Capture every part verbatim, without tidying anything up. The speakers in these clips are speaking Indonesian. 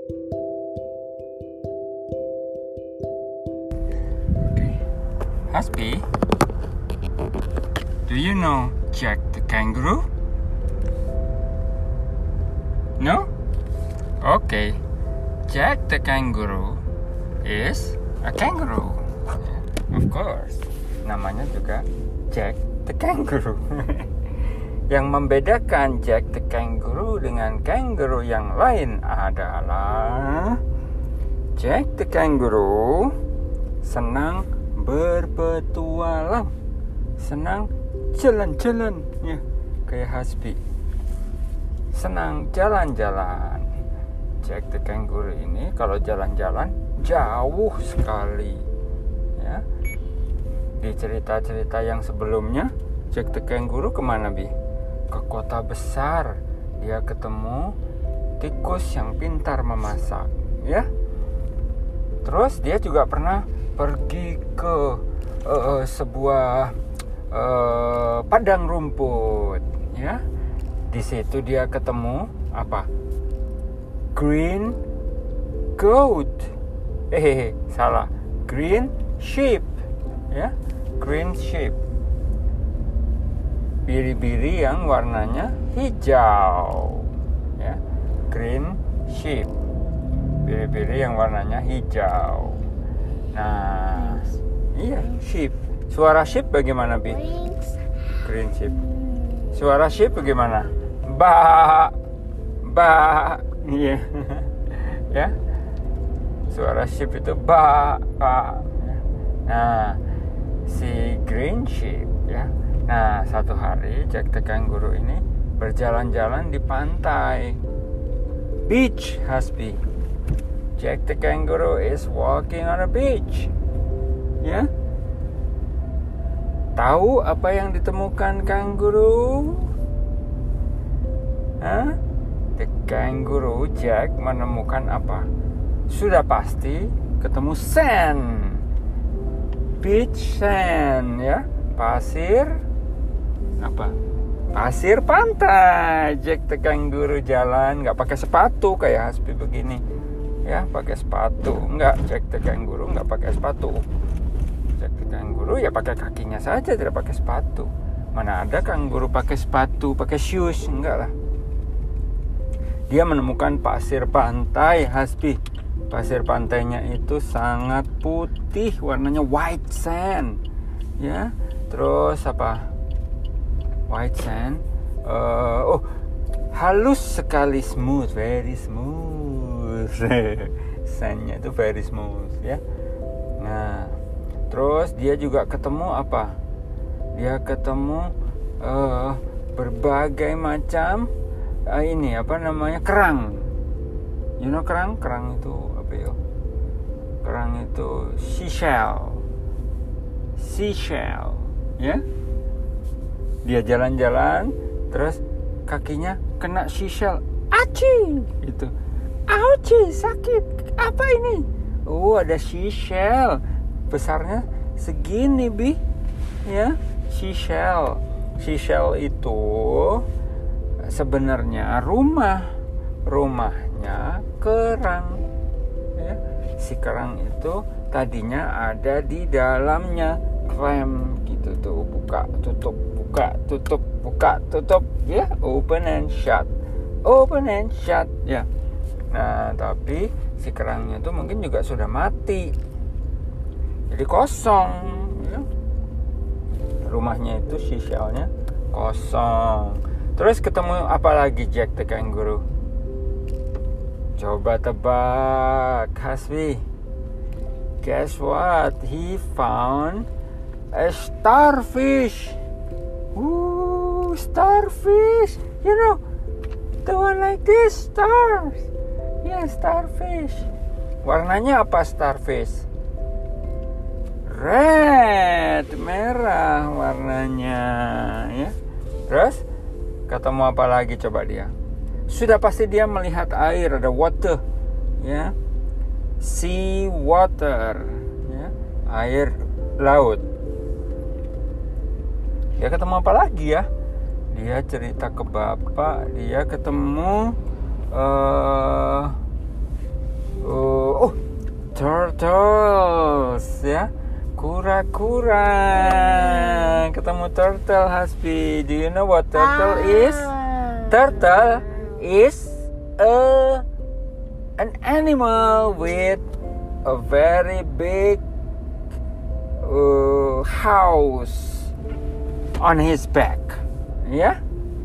Okay. Hasbi, do you know Jack the kangaroo? No? Okay. Jack the kangaroo is a kangaroo. Yeah, of course. Namanya juga Jack the kangaroo. Yang membedakan Jack the kangaroo dengan kangaroo yang lain adalah Jack the kangaroo senang berpetualang, senang jalan-jalan, ya, kayak Hasbi. Senang jalan-jalan. Jack the kangaroo ini kalau jalan-jalan jauh sekali, ya. Di cerita-cerita yang sebelumnya, Jack the kangaroo kemana, Bi? Ke kota besar. Dia ketemu tikus yang pintar memasak, ya. Terus dia juga pernah pergi ke uh, sebuah uh, padang rumput, ya. Di situ dia ketemu apa? Green goat. Eh, salah. Green sheep, ya. Green sheep. Biri-biri yang warnanya hijau, ya. Green sheep. Biri-biri yang warnanya hijau. Nah, iya, sheep. Suara sheep bagaimana, Bi? Green sheep. Suara sheep bagaimana? Ba, ba, iya, ya. Suara sheep itu ba, ba. Nah, si green sheep, ya. Nah, satu hari Jack the kangaroo ini berjalan-jalan di pantai. Beach, Hasbi. Jack the kangaroo is walking on a beach. Ya. Tahu apa yang ditemukan kangaroo? Hah? The kangaroo Jack menemukan apa? Sudah pasti ketemu sand. Beach sand, ya. Pasir apa? Pasir pantai. Jack the kangaroo jalan nggak pakai sepatu kayak Hasbi begini. Ya, pakai sepatu. Enggak, Jack the kangaroo enggak pakai sepatu. Jack the kangaroo ya pakai kakinya saja, tidak pakai sepatu. Mana ada kangaroo pakai sepatu, pakai shoes? Enggak lah. Dia menemukan pasir pantai, Hasbi. Pasir pantainya itu sangat putih, warnanya white sand. Ya, terus apa? White sand. Uh, oh, halus sekali, smooth, very smooth. Sandnya itu very smooth, ya. Nah, terus dia juga ketemu apa? Dia ketemu uh, berbagai macam uh, ini apa namanya kerang. You know kerang? Kerang itu apa ya? Kerang itu seashell. Seashell, ya. Dia jalan-jalan, terus kakinya kena seashell. Aci, itu. Auci, sakit. Apa ini? Oh, ada seashell. Besarnya segini, Bi. Ya, seashell. Seashell itu sebenarnya rumah. Rumahnya kerang. Ya. Si kerang itu tadinya ada di dalamnya klem gitu tuh, buka tutup, buka tutup, buka tutup, ya, open and shut. Open and shut, ya. Nah, tapi si kerangnya itu mungkin juga sudah mati. Jadi kosong, ya. Rumahnya itu seashellnya kosong. Terus ketemu apa lagi Jack the kangaroo? Coba tebak, Hasbi. Guess what? He found a starfish. Ooh, starfish. You know, the one like this, stars. Ya, starfish. Warnanya apa starfish? Red, merah warnanya, ya. Terus ketemu apa lagi coba dia? Sudah pasti dia melihat air, ada water, ya. Sea water, ya. Air laut. Dia ketemu apa lagi ya? Dia cerita ke bapak, dia ketemu uh, turtles ya, kura-kura. Ketemu turtle, Hasbi. Do you know what turtle Ah. is? Turtle is a an animal with a very big uh, house on his back, ya.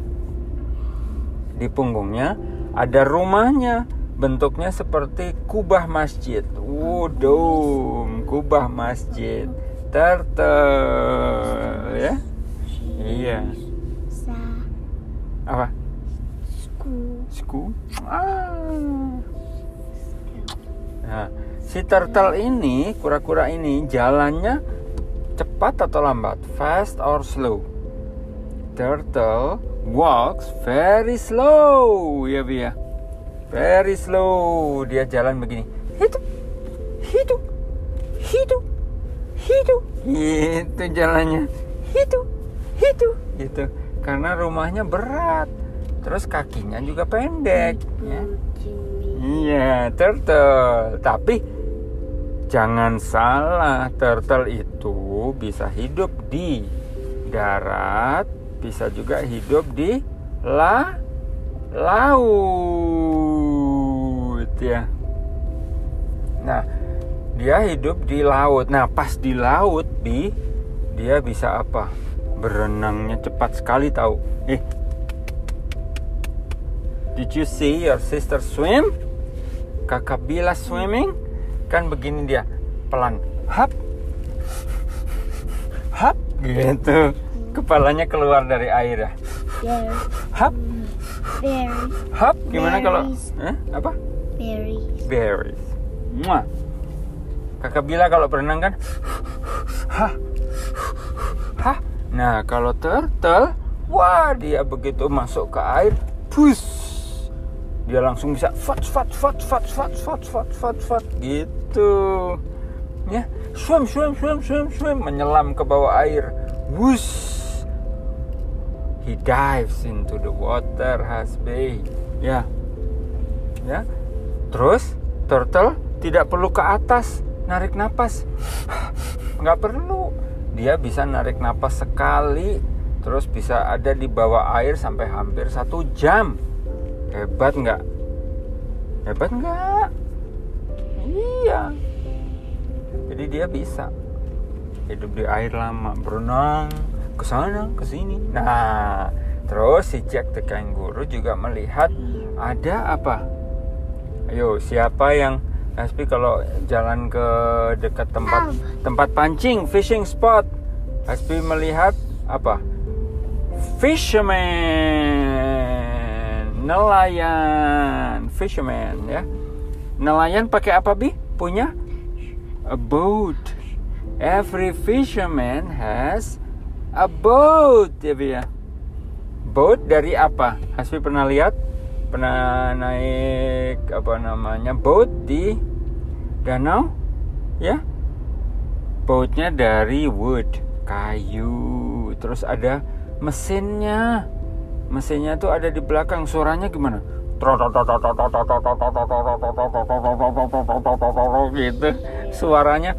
Di punggungnya ada rumahnya, bentuknya seperti kubah masjid. Oh, dome, kubah masjid. Turtle, ya. Iya. Sa. Apa? School. School? Ah. Nah, si turtle ini, kura-kura ini jalannya cepat atau lambat? Fast or slow? Turtle walks very slow, ya Bi ya. Very slow. Dia jalan begini. Hidup, hidup, hidup, hidup. Itu jalannya. Hidup, hidup. Gitu. Karena rumahnya berat. Terus kakinya juga pendek. Ya. Iya, turtle. Tapi jangan salah, turtle itu bisa hidup di darat, bisa juga hidup di la laut ya. Nah, dia hidup di laut. Nah, pas di laut, Bi, dia bisa apa? Berenangnya cepat sekali tahu. Eh. Did you see your sister swim? Kakak Bila swimming? Kan begini dia, pelan. Hap. Hap gitu. Kepalanya keluar dari air ya. Berry. Hap. Berry. Hap gimana kalau Berries. eh, apa? Berries. Berries. Muah. Kakak Bila kalau berenang kan hah. Hah. Nah, kalau turtle, wah, dia begitu masuk ke air, push. Dia langsung bisa fat fat fat fat fat fat fat fat fat gitu. Ya, swim swim swim swim swim menyelam ke bawah air. Wush. He dives into the water, Hasbi. Ya. Ya. Terus turtle tidak perlu ke atas narik napas. Nggak perlu. Dia bisa narik napas sekali, terus bisa ada di bawah air sampai hampir satu jam. Hebat nggak? Hebat nggak? Iya. Jadi dia bisa hidup di air lama, berenang ke sana, ke sini. Nah, terus si Jack the Kangaroo juga melihat ada apa? Ayo, siapa yang Hasbi kalau jalan ke dekat tempat tempat pancing, fishing spot, Hasbi melihat apa? Fisherman, nelayan, fisherman ya. Nelayan pakai apa, Bi? Punya a boat. Every fisherman has a boat, ya Bi ya. Boat dari apa? Hasbi pernah lihat? Pernah naik apa namanya? Boat di danau? Ya. Boatnya dari wood, kayu. Terus ada mesinnya. Mesinnya tuh ada di belakang. Suaranya gimana? Gitu. Suaranya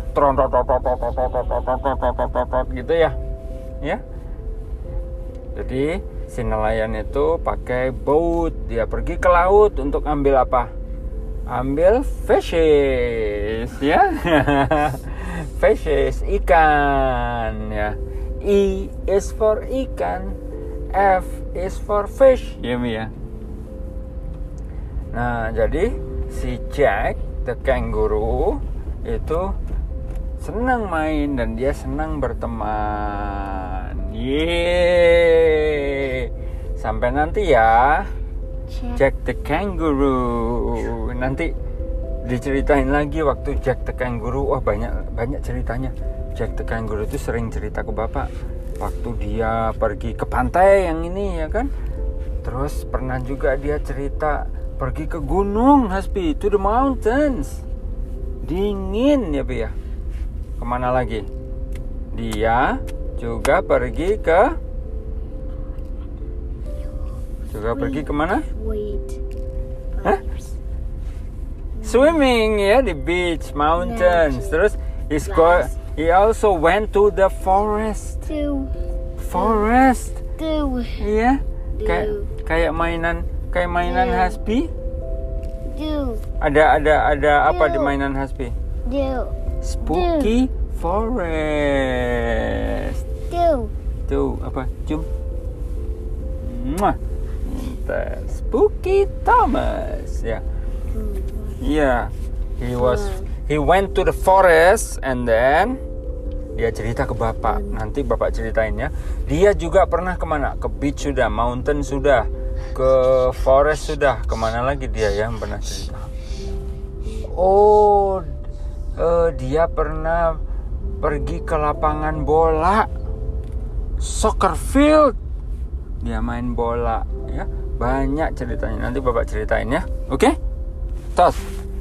gitu ya. Ya. Jadi si nelayan itu pakai boat. Dia pergi ke laut untuk ambil apa? Ambil fishes, ya. Fishes, ikan, ya. E is for ikan, F is for fish, ya Mi ya. Nah, jadi si Jack the Kangaroo itu senang main dan dia senang berteman. Yeay. Sampai nanti ya, Jack the Kangaroo. Nanti diceritain lagi waktu Jack the Kangaroo. Wah, banyak banyak ceritanya. Jack the Kangaroo itu sering cerita ke bapak waktu dia pergi ke pantai yang ini ya kan. Terus pernah juga dia cerita pergi ke gunung, Hasbi, to the mountains. Dingin ya, Bi ya. Kemana lagi? Dia juga pergi ke juga pergi kemana? Wait. Hah? swimming ya di beach, mountains. Terus he's go, he also went to the forest. Do. Forest. Do. Iya. Kayak Do. kayak mainan kayak mainan Do. Hasbi. Do. Ada ada ada apa di Do. mainan Hasbi? Do. Spooky forest. Do. Tuh apa? Cium. Muah. Pintar. Spooky Thomas. Ya. Iya. He was he went to the forest and then dia cerita ke bapak. Nanti bapak ceritain ya. Dia juga pernah kemana? Ke beach sudah, mountain sudah, ke forest sudah. Kemana lagi dia yang pernah cerita? Oh, uh, dia pernah pergi ke lapangan bola, soccer field. Dia main bola, ya. Banyak ceritanya. Nanti bapak ceritain ya. Oke? Okay? Tos.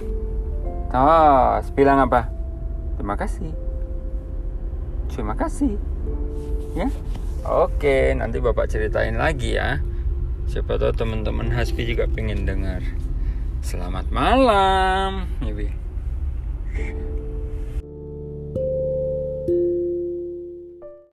Tos. Bilang apa? Terima kasih. Terima kasih. Ya. Oke, nanti bapak ceritain lagi ya. Siapa tahu teman-teman Hasbi juga pengen dengar. Selamat malam, Ibi.